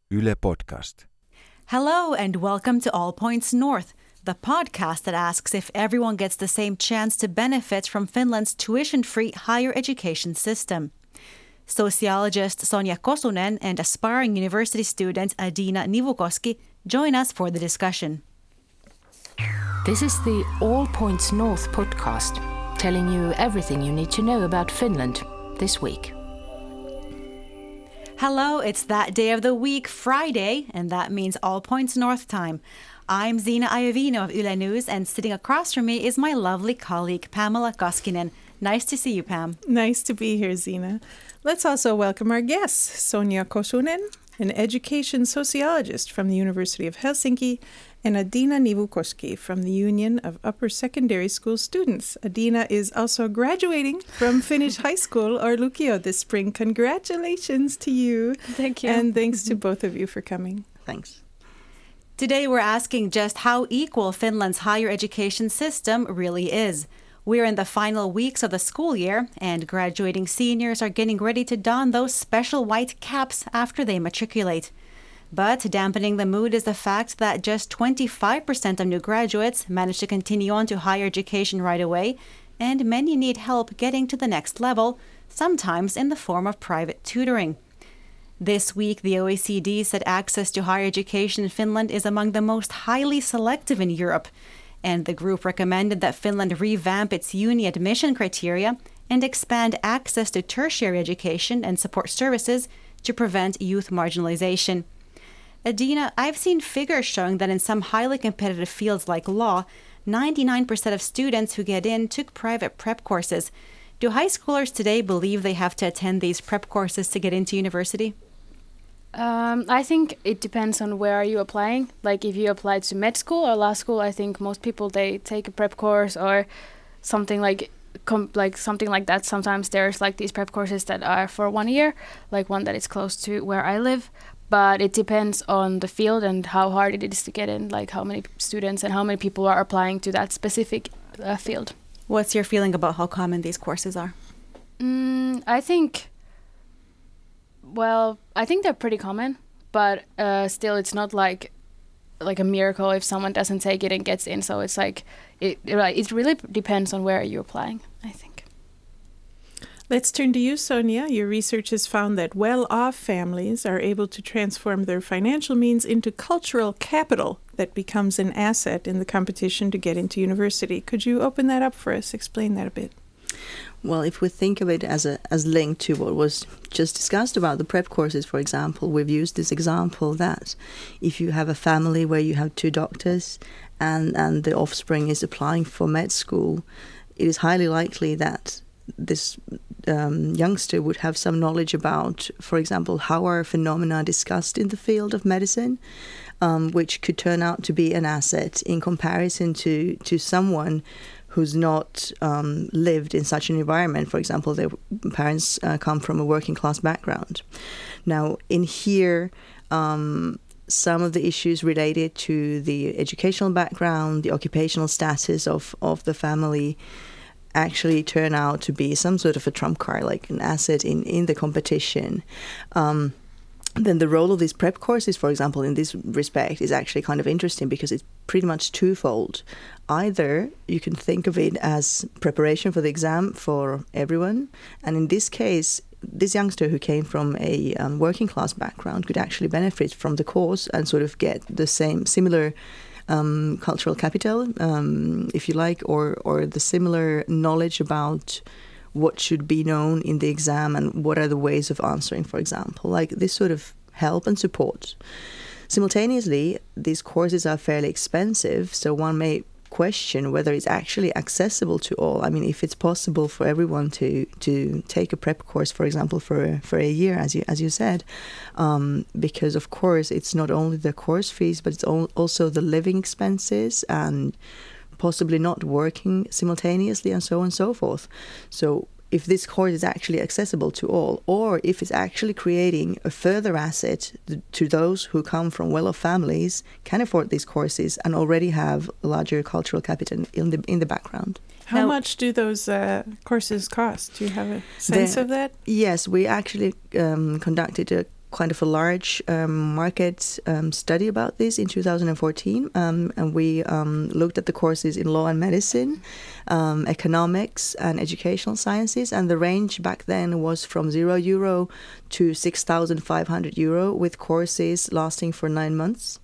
Yle Podcast. Hello and welcome to All Points North, the podcast that asks if everyone gets the same chance to benefit from Finland's tuition-free higher education system. Sociologist Sonja Kosunen and aspiring university student Adina Nivukoski join us for the discussion. This is the All Points North podcast, telling you everything you need to know about Finland this week. Hello, it's that day of the week, Friday, and that means All Points North time. I'm Zina Iovino of Yle News, and sitting across from me is my lovely colleague Pamela Koskinen. Nice to see you, Pam. Nice to be here, Zina. Let's also welcome our guests, Sonja Kosunen, an education sociologist from the University of Helsinki, and Adina Nivukoski from the Union of Upper Secondary School Students. Adina is also graduating from Finnish high school or Lukio this spring. Congratulations to you. Thank you. And thanks to both of you for coming. Thanks. Today we're asking just how equal Finland's higher education system really is. We're in the final weeks of the school year, and graduating seniors are getting ready to don those special white caps after they matriculate. But dampening the mood is the fact that just 25% of new graduates manage to continue on to higher education right away, and many need help getting to the next level, sometimes in the form of private tutoring. This week, the OECD said access to higher education in Finland is among the most highly selective in Europe, and the group recommended that Finland revamp its uni admission criteria and expand access to tertiary education and support services to prevent youth marginalization. Adina, I've seen figures showing that in some highly competitive fields like law, 99% of students who get in took private prep courses. Do high schoolers today believe they have to attend these prep courses to get into university? I think it depends on where you are applying. Like if you apply to med school or law school, I think most people, they take a prep course or something like something like that. Sometimes there's like these prep courses that are for 1 year, like one that is close to where I live. But it depends on the field and how hard it is to get in, like how many students and how many people are applying to that specific field. What's your feeling about how common these courses are? I think they're pretty common, but still it's not like a miracle if someone doesn't take it and gets in. So it's like, it really depends on where you're applying, I think. Let's turn to you, Sonja. Your research has found that well-off families are able to transform their financial means into cultural capital that becomes an asset in the competition to get into university. Could you open that up for us? Explain that a bit. Well, if we think of it as linked to what was just discussed about the prep courses, for example, we've used this example that if you have a family where you have 2 doctors and the offspring is applying for med school, it is highly likely that this youngster would have some knowledge about, for example, how are phenomena discussed in the field of medicine, which could turn out to be an asset in comparison to someone who's not lived in such an environment. For example, their parents come from a working class background. Now, in here, some of the issues related to the educational background, the occupational status of the family, actually turn out to be some sort of a trump card, like an asset in the competition. Then the role of these prep courses, for example, in this respect is actually kind of interesting because it's pretty much twofold. Either you can think of it as preparation for the exam for everyone, and in this case, this youngster who came from a working class background could actually benefit from the course and sort of get the similar cultural capital, if you like, or the similar knowledge about what should be known in the exam and what are the ways of answering, for example, like this sort of help and support. Simultaneously, these courses are fairly expensive, so one may question whether it's actually accessible to all. I mean, if it's possible for everyone to take a prep course, for example, for a year, as you said, because of course it's not only the course fees, but it's also the living expenses and possibly not working simultaneously and so on and so forth. So if this course is actually accessible to all, or if it's actually creating a further asset to those who come from well-off families, can afford these courses, and already have a larger cultural capital in the background. How much do those courses cost? Do you have a sense of that? Yes, we actually conducted a kind of a large market study about this in 2014, and we looked at the courses in law and medicine, economics and educational sciences, and the range back then was from €0 to €6,500 with courses lasting for 9 months.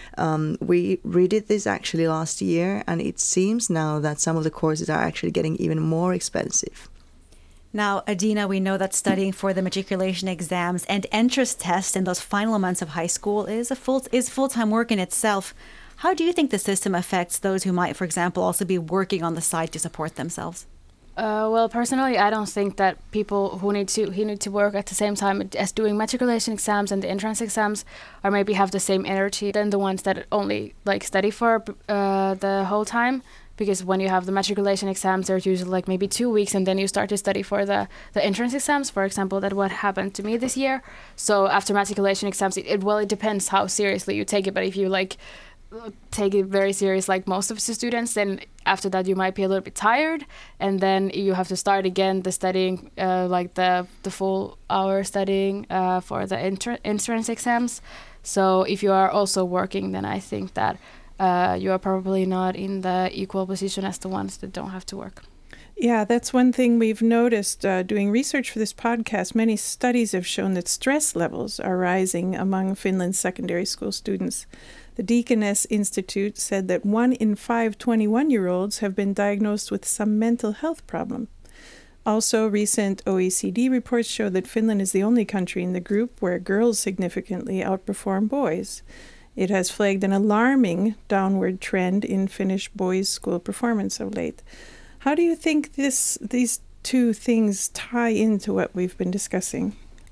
We redid this actually last year, and it seems now that some of the courses are actually getting even more expensive. Now, Adina, we know that studying for the matriculation exams and entrance tests in those final months of high school is full-time work in itself. How do you think the system affects those who might, for example, also be working on the side to support themselves? Well, personally, I don't think that people who need to work at the same time as doing matriculation exams and the entrance exams, or maybe have the same energy than the ones that only study for the whole time. Because when you have the matriculation exams, they're usually maybe 2 weeks, and then you start to study for the entrance exams. For example, that's what happened to me this year. So after matriculation exams, it depends how seriously you take it. But if you take it very serious, like most of the students, then after that you might be a little bit tired, and then you have to start again the studying, the full hour studying for the entrance exams. So if you are also working, then I think that you are probably not in the equal position as the ones that don't have to work. Yeah, that's one thing we've noticed doing research for this podcast. Many studies have shown that stress levels are rising among Finland's secondary school students. The Deaconess Institute said that 1 in 5 21-year-olds have been diagnosed with some mental health problem. Also, recent OECD reports show that Finland is the only country in the group where girls significantly outperform boys. It has flagged an alarming downward trend in Finnish boys' school performance of late. How do you think these two things tie into what we've been discussing?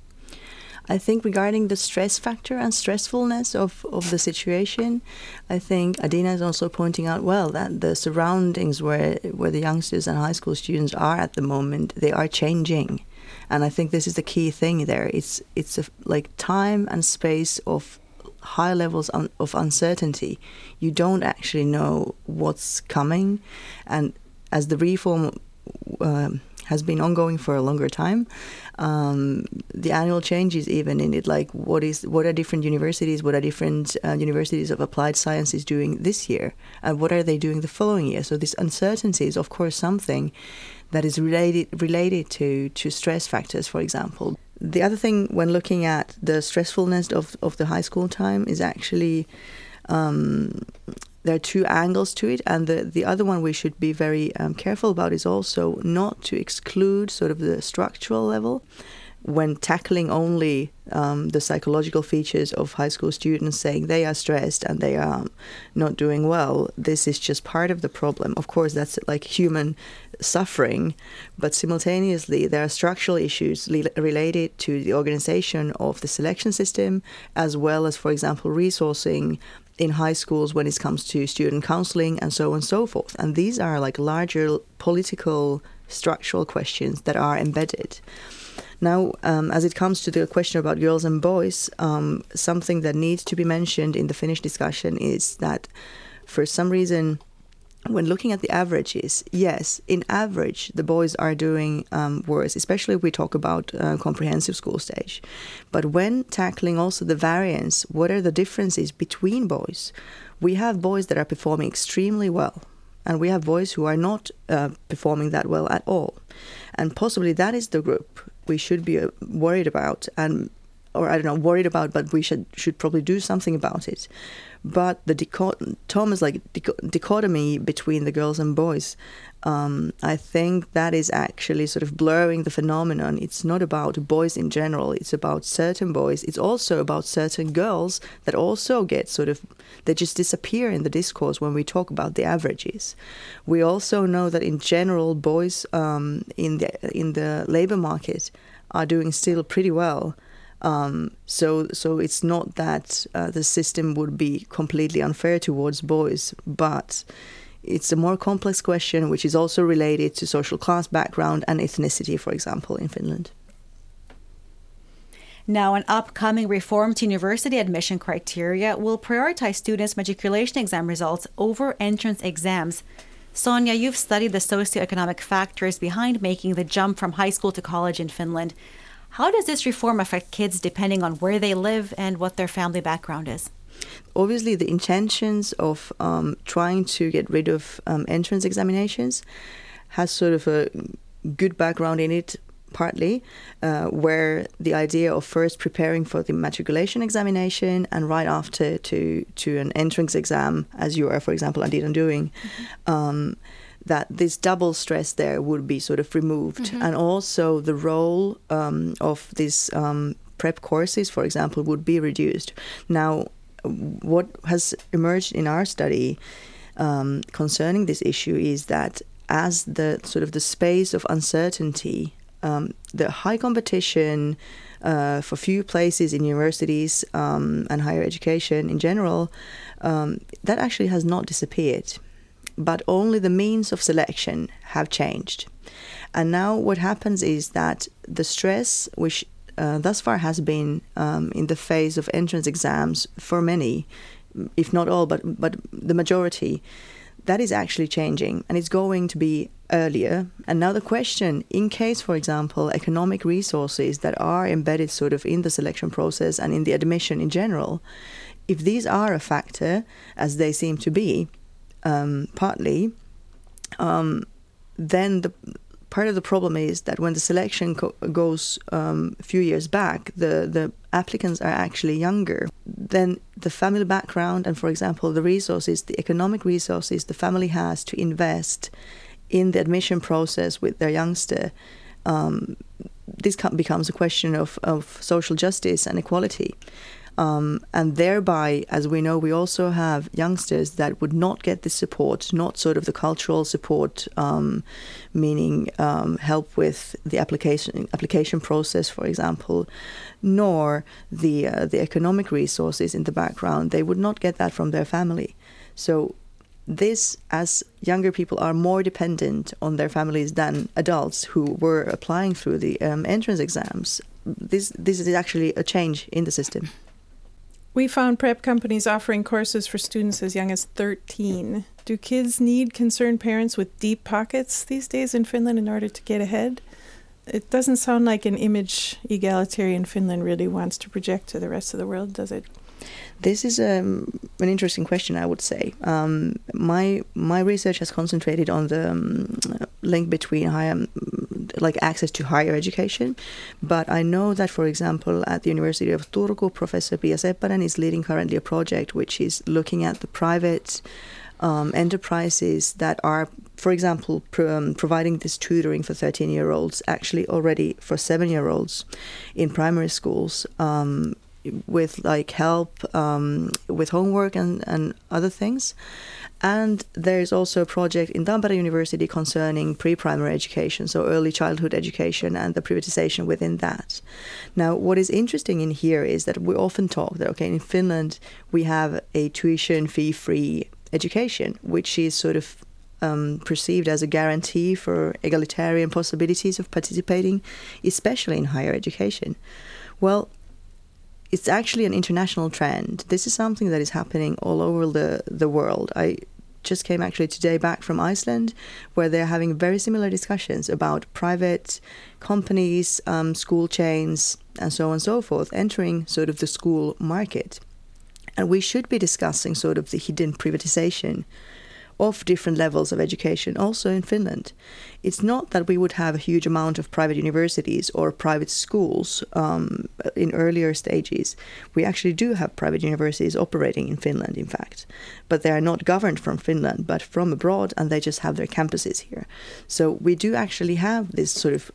I think regarding the stress factor and stressfulness of the situation, I think Adina is also pointing out well that the surroundings where the youngsters and high school students are at the moment, they are changing. And I think this is the key thing there. It's time and space of high levels of uncertainty. You don't actually know what's coming, and as the reform has been ongoing for a longer time, the annual changes even in it, what are different universities of applied sciences doing this year, and what are they doing the following year. So this uncertainty is of course something that is related to stress factors, for example. The other thing when looking at the stressfulness of the high school time is actually there are two angles to it, and the other one we should be very careful about is also not to exclude sort of the structural level when tackling only the psychological features of high school students, saying they are stressed and they are not doing well. This is just part of the problem. Of course, that's human suffering, but simultaneously there are structural issues related to the organization of the selection system, as well as, for example, resourcing in high schools when it comes to student counseling and so on and so forth. And these are larger political structural questions that are embedded. Now, as it comes to the question about girls and boys, something that needs to be mentioned in the Finnish discussion is that for some reason, when looking at the averages, yes, in average, the boys are doing worse, especially if we talk about comprehensive school stage. But when tackling also the variance, what are the differences between boys? We have boys that are performing extremely well, and we have boys who are not performing that well at all. And possibly that is the group we should be worried about, but we should probably do something about it. But the dichotomy between the girls and boys, I think that is actually sort of blurring the phenomenon. It's not about boys in general. It's about certain boys. It's also about certain girls that also get they just disappear in the discourse when we talk about the averages. We also know that in general, boys in the labor market are doing still pretty well. So it's not that the system would be completely unfair towards boys, but it's a more complex question, which is also related to social class background and ethnicity, for example, in Finland. Now, an upcoming reform to university admission criteria will prioritize students' matriculation exam results over entrance exams. Sonia, you've studied the socioeconomic factors behind making the jump from high school to college in Finland. How does this reform affect kids depending on where they live and what their family background is? Obviously, the intentions of trying to get rid of entrance examinations has sort of a good background in it, partly, where the idea of first preparing for the matriculation examination and right after to an entrance exam, as you are, for example, Adina doing, that this double stress there would be sort of removed. And also the role of these prep courses, for example, would be reduced. Now, what has emerged in our study concerning this issue is that as the sort of the space of uncertainty, the high competition for few places in universities and higher education in general, that actually has not disappeared, but only the means of selection have changed. And now what happens is that the stress, which thus far has been in the phase of entrance exams for many, if not all, but the majority, that is actually changing, and it's going to be earlier. And now the question, in case, for example, economic resources that are embedded sort of in the selection process and in the admission in general, if these are a factor, as they seem to be, partly, then the part of the problem is that when the selection goes a few years back, the applicants are actually younger. Then the family background and, for example, the resources, the economic resources the family has to invest in the admission process with their youngster, this becomes a question of social justice and equality. And thereby, as we know, we also have youngsters that would not get this support, not sort of the cultural support, meaning help with the application process, for example, nor the economic resources in the background. They would not get that from their family. So this, as younger people are more dependent on their families than adults who were applying through the entrance exams, this is actually a change in the system. We found prep companies offering courses for students as young as 13. Do kids need concerned parents with deep pockets these days in Finland in order to get ahead? It doesn't sound like an image egalitarian Finland really wants to project to the rest of the world, does it? This is an interesting question, I would say. My research has concentrated on the link between access to higher education, but I know that, for example, at the University of Turku, Professor Pia Seppänen is leading currently a project which is looking at the private enterprises that are, for example, providing this tutoring for 13-year-olds, actually already for 7-year-olds in primary schools, with help with homework and other things. And there is also a project in Tampere University concerning pre-primary education, so early childhood education and the privatization within that. Now, what is interesting in here is that we often talk that, in Finland we have a tuition fee-free education, which is sort of perceived as a guarantee for egalitarian possibilities of participating, especially in higher education. Well, it's actually an international trend. This is something that is happening all over the world. I just came actually today back from Iceland, where they're having very similar discussions about private companies, school chains, and so on and so forth, entering sort of the school market. And we should be discussing sort of the hidden privatization of different levels of education also in Finland. It's not that we would have a huge amount of private universities or private schools in earlier stages. We actually do have private universities operating in Finland, in fact, but they are not governed from Finland, but from abroad, and they just have their campuses here. So we do actually have this sort of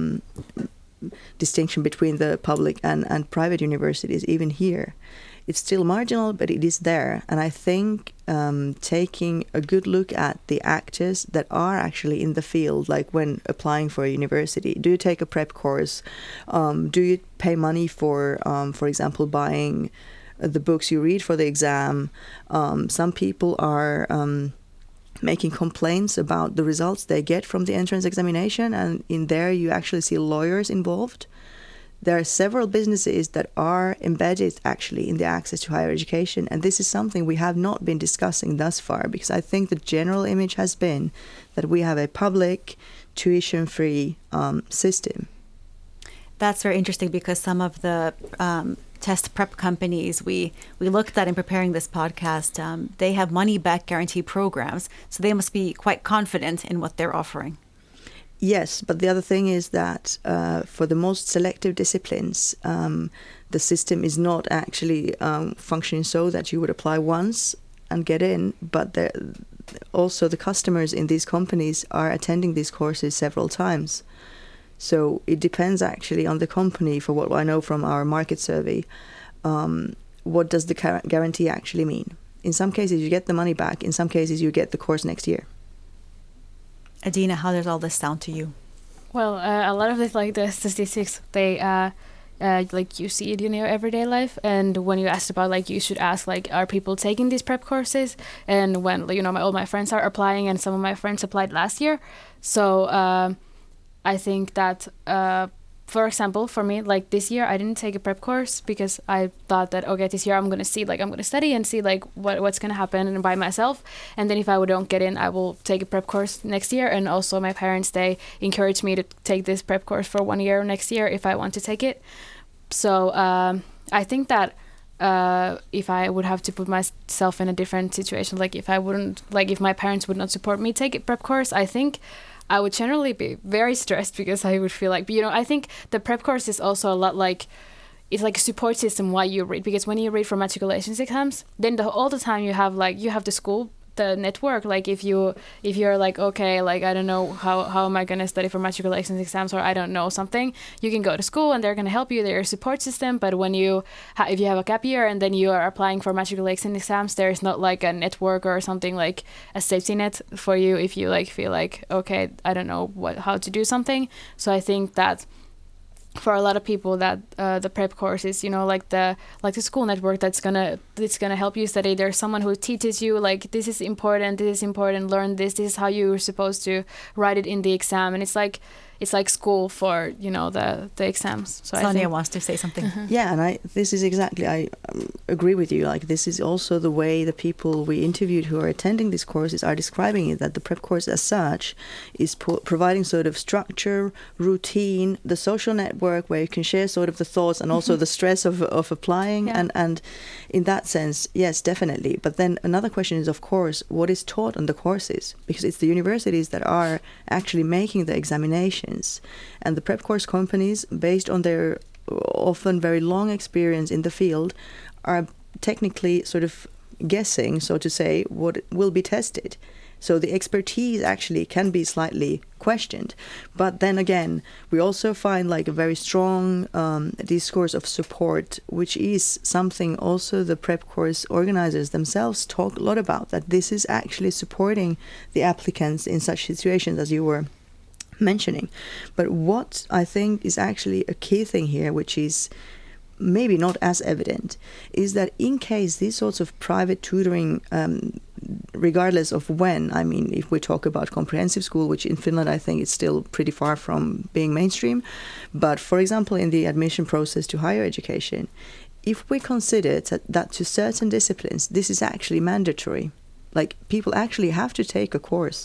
distinction between the public and private universities, even here. It's still marginal, but it is there. And I think taking a good look at the actors that are actually in the field, like when applying for a university, do you take a prep course? Do you pay money for example, buying the books you read for the exam? Some people are making complaints about the results they get from the entrance examination, and in there you actually see lawyers involved. There are several businesses that are embedded actually in the access to higher education, and this is something we have not been discussing thus far, because I think the general image has been that we have a public tuition-free system. That's very interesting because some of the test prep companies we looked at in preparing this podcast, they have money back guarantee programs, so they must be quite confident in what they're offering. Yes, but the other thing is that for the most selective disciplines, the system is not actually functioning so that you would apply once and get in, but also the customers in these companies are attending these courses several times. So it depends actually on the company. For what I know from our market survey, what does the guarantee actually mean? In some cases you get the money back, in some cases you get the course next year. Adina, how does all this sound to you? Well, a lot of it, like the statistics, they like you see it in your everyday life. And when you asked about, like, you should ask, like, are people taking these prep courses? And when, you know, all my friends are applying, and some of my friends applied last year. So I think that, for example, for me, like this year, I didn't take a prep course because I thought that, okay, this year I'm going to study and see like what's going to happen by myself. And then if I don't get in, I will take a prep course next year. And also my parents, they encouraged me to take this prep course for 1 year next year if I want to take it. So I think that if I would have to put myself in a different situation, like if my parents would not support me take a prep course, I think I would generally be very stressed because I would feel like, you know, I think the prep course is also a lot like, it's like a support system why you read, because when you read for matriculations exams, then all the time you have the school, the network, like if you're like, okay, like I don't know how am I going to study for matriculations exams, or I don't know something, you can go to school and they're going to help you, they're a support system. But when if you have a gap year and then you are applying for matriculation exams, there is not like a network or something like a safety net for you if you like feel like, okay, I don't know how to do something. So I think that for a lot of people that the prep course is, you know, like the school network that's gonna help you study. There's someone who teaches you like this is important, learn this is how you're supposed to write it in the exam, and it's like school for, you know, the exams. So Sonia wants to say something. Yeah, and I agree with you. Like this is also the way the people we interviewed who are attending these courses are describing it, that the prep course as such is providing sort of structure, routine, the social network where you can share sort of the thoughts and also the stress of applying. Yeah. And in that sense, yes, definitely. But then another question is, of course, what is taught on the courses? Because it's the universities that are actually making the examination. And the prep course companies, based on their often very long experience in the field, are technically sort of guessing, so to say, what will be tested. So the expertise actually can be slightly questioned. But then again, we also find like a very strong discourse of support, which is something also the prep course organizers themselves talk a lot about, that this is actually supporting the applicants in such situations as you were mentioning. But what I think is actually a key thing here, which is maybe not as evident, is that in case these sorts of private tutoring, regardless of when, I mean, if we talk about comprehensive school, which in Finland I think is still pretty far from being mainstream, but for example in the admission process to higher education, if we consider that to certain disciplines this is actually mandatory, like people actually have to take a course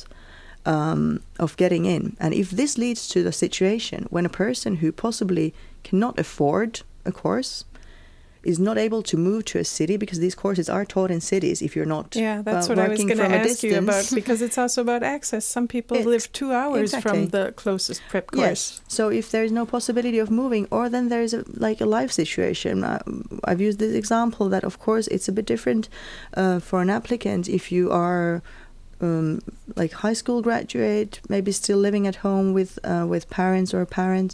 of getting in. And if this leads to the situation when a person who possibly cannot afford a course is not able to move to a city, because these courses are taught in cities if you're not that's what I was going to ask you about, because it's also about access. Some people live 2 hours from the closest prep course. Yes. So if there is no possibility of moving, or then there is a life situation. I've used this example that of course it's a bit different for an applicant if you are like high school graduate, maybe still living at home with parents or a parent,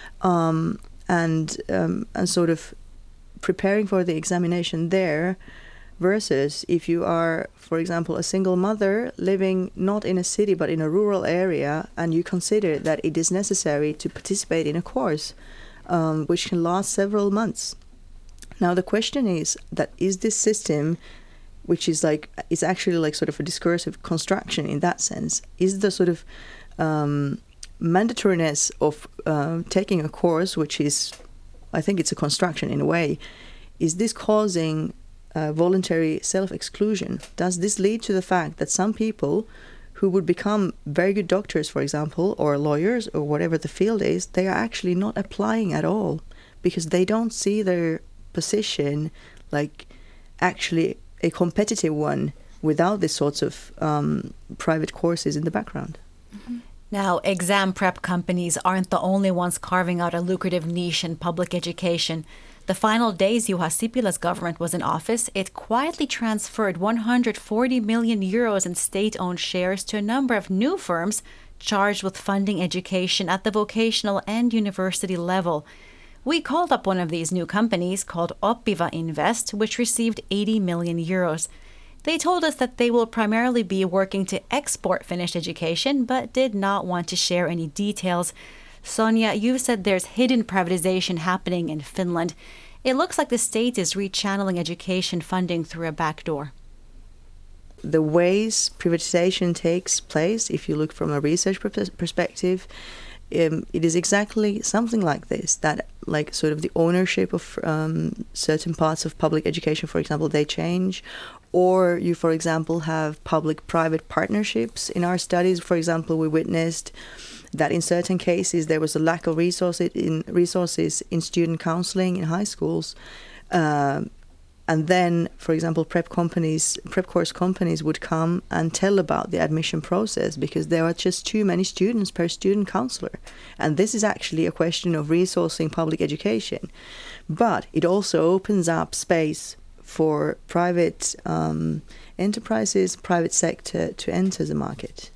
and sort of preparing for the examination there, versus if you are, for example, a single mother living not in a city but in a rural area, and you consider that it is necessary to participate in a course which can last several months. Now the question is this system, which is like, it's actually like sort of a discursive construction in that sense, is the sort of mandatoriness of taking a course, which is, I think it's a construction in a way, is this causing voluntary self-exclusion? Does this lead to the fact that some people who would become very good doctors, for example, or lawyers, or whatever the field is, they are actually not applying at all because they don't see their position like actually a competitive one without these sorts of private courses in the background. Now, exam prep companies aren't the only ones carving out a lucrative niche in public education. The final days Juha Sipilä's government was in office, it quietly transferred 140 million euros in state-owned shares to a number of new firms charged with funding education at the vocational and university level. We called up one of these new companies called Oppiva Invest, which received 80 million euros. They told us that they will primarily be working to export Finnish education, but did not want to share any details. Sonia, you've said there's hidden privatization happening in Finland. It looks like the state is rechanneling education funding through a back door. The ways privatization takes place, if you look from a research perspective, it is exactly something like this, that like sort of the ownership of certain parts of public education, for example, they change. Or you, for example, have public-private partnerships. In our studies, for example, we witnessed that in certain cases there was a lack of resources in student counseling in high schools. And then, for example, prep course companies would come and tell about the admission process because there are just too many students per student counselor. And this is actually a question of resourcing public education. But it also opens up space for private enterprises, private sector to enter the market.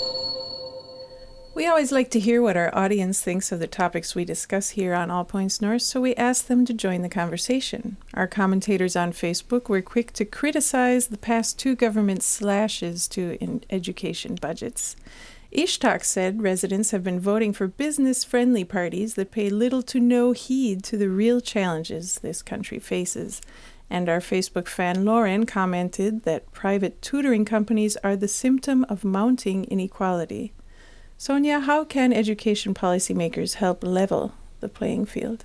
We always like to hear what our audience thinks of the topics we discuss here on All Points North, so we ask them to join the conversation. Our commentators on Facebook were quick to criticize the past 2 government slashes to education budgets. Ishtak said residents have been voting for business-friendly parties that pay little to no heed to the real challenges this country faces. And our Facebook fan Lauren commented that private tutoring companies are the symptom of mounting inequality. Sonia, how can education policymakers help level the playing field?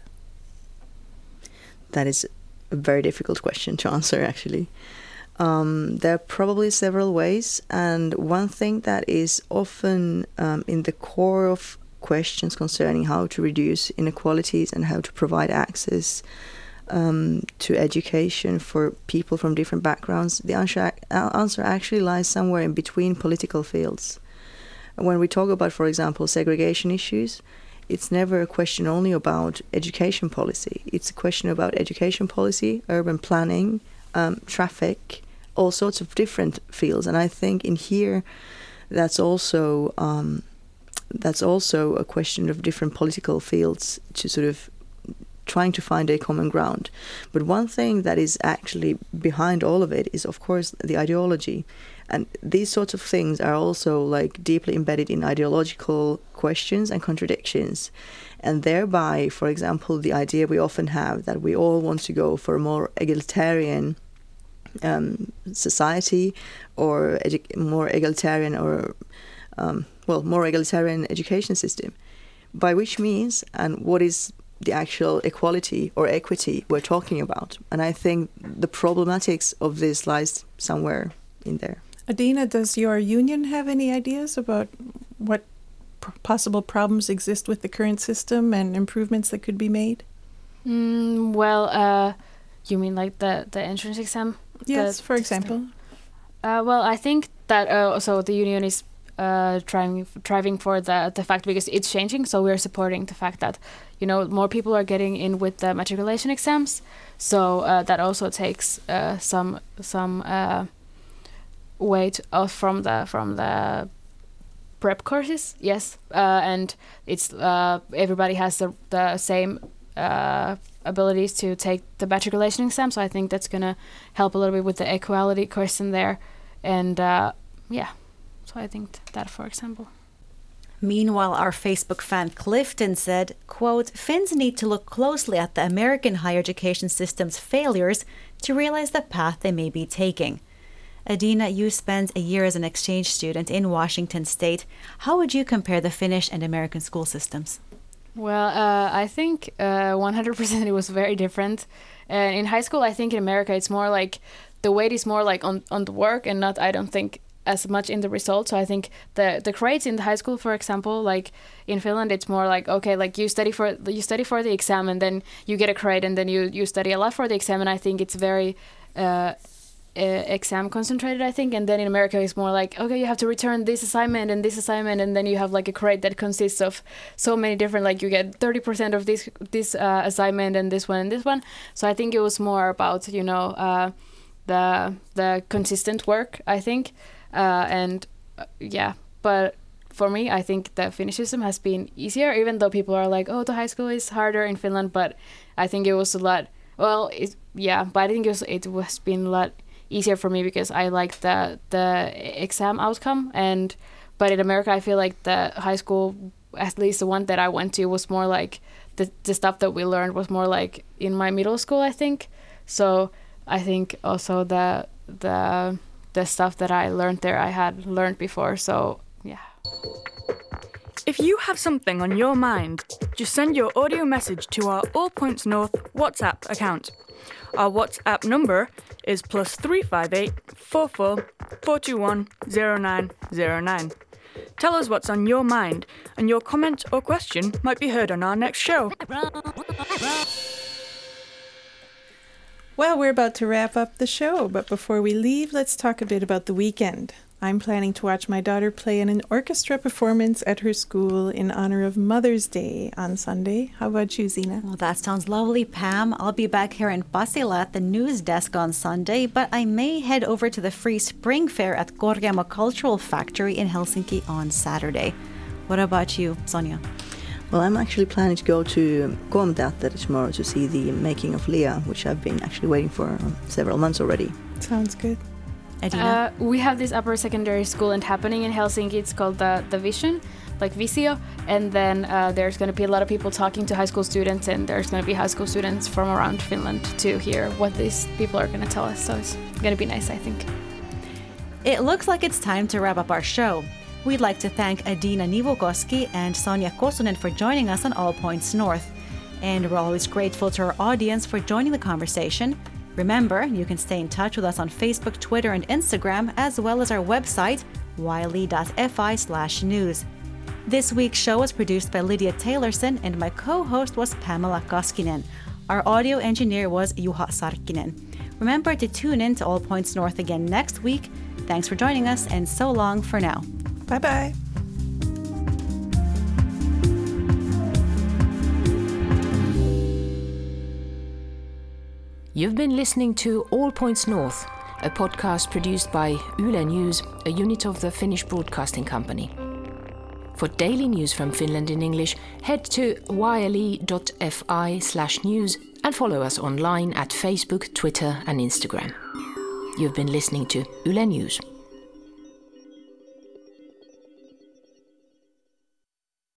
That is a very difficult question to answer, actually. There are probably several ways, and one thing that is often in the core of questions concerning how to reduce inequalities and how to provide access to education for people from different backgrounds, the answer actually lies somewhere in between political fields. When we talk about, for example, segregation issues, it's never a question only about education policy. It's a question about education policy, urban planning, traffic, all sorts of different fields. And I think in here, that's also a question of different political fields to sort of trying to find a common ground. But one thing that is actually behind all of it is, of course, the ideology. And these sorts of things are also like deeply embedded in ideological questions and contradictions. And thereby, for example, the idea we often have that we all want to go for a more egalitarian society or more egalitarian education system. By which means, and what is the actual equality or equity we're talking about? And I think the problematics of this lies somewhere in there. Adina, does your union have any ideas about what possible problems exist with the current system and improvements that could be made? You mean like the entrance exam? Yes, for example. I think that also the union is driving for the fact, because it's changing, so we're supporting the fact that, you know, more people are getting in with the matriculation exams, so that also takes some weight off from the prep courses. Yes, and it's everybody has the same abilities to take the matriculation exam, so I think that's gonna help a little bit with the equality question there, and so I think that, for example. Meanwhile, our Facebook fan Clifton said, quote, Finns need to look closely at the American higher education system's failures to realize the path they may be taking. Adina, you spent a year as an exchange student in Washington State. How would you compare the Finnish and American school systems? Well, I think 100% it was very different. In high school, I think in America it's more like the weight is more like on the work and not, I don't think, as much in the result. So I think the grades in the high school, for example, like in Finland, it's more like, okay, like you study for the exam and then you get a grade and then you study a lot for the exam. And I think it's very exam concentrated, I think. And then in America, it's more like, okay, you have to return this assignment, and then you have like a grade that consists of so many different, like you get 30% of this assignment and this one and this one. So I think it was more about, the consistent work, I think. But for me, I think the Finnish system has been easier, even though people are like, oh, the high school is harder in Finland. But I think it was a lot, but I think it was been a lot easier for me because I like the exam outcome. But in America, I feel like the high school, at least the one that I went to, was more like the stuff that we learned was more like in my middle school, I think. So I think also the stuff that I learned there, I had learned before. So yeah. If you have something on your mind, just send your audio message to our All Points North WhatsApp account. Our WhatsApp number is +358 44 421 0909. Tell us what's on your mind, and your comment or question might be heard on our next show. Well, we're about to wrap up the show, but before we leave, let's talk a bit about the weekend. I'm planning to watch my daughter play in an orchestra performance at her school in honor of Mother's Day on Sunday. How about you, Zina? Well, that sounds lovely, Pam. I'll be back here in Pasila at the news desk on Sunday, but I may head over to the free spring fair at Korkeamo Cultural Factory in Helsinki on Saturday. What about you, Sonia? Well, I'm actually planning to go to Koomteatteri tomorrow to see the making of Leah, which I've been actually waiting for several months already. Sounds good. Edina? We have this upper secondary school and happening in Helsinki. It's called the Vision, like Visio. And then there's going to be a lot of people talking to high school students, and there's going to be high school students from around Finland to hear what these people are going to tell us. So it's going to be nice, I think. It looks like it's time to wrap up our show. We'd like to thank Adina Nivukoski and Sonia Kosunen for joining us on All Points North. And we're always grateful to our audience for joining the conversation. Remember, you can stay in touch with us on Facebook, Twitter, and Instagram, as well as our website, yle.fi/news. This week's show was produced by Lydia Taylorson, and my co-host was Pamela Koskinen. Our audio engineer was Juha Sarkkinen. Remember to tune in to All Points North again next week. Thanks for joining us, and so long for now. Bye-bye. You've been listening to All Points North, a podcast produced by Yle News, a unit of the Finnish Broadcasting Company. For daily news from Finland in English, head to yle.fi/news and follow us online at Facebook, Twitter and Instagram. You've been listening to Yle News.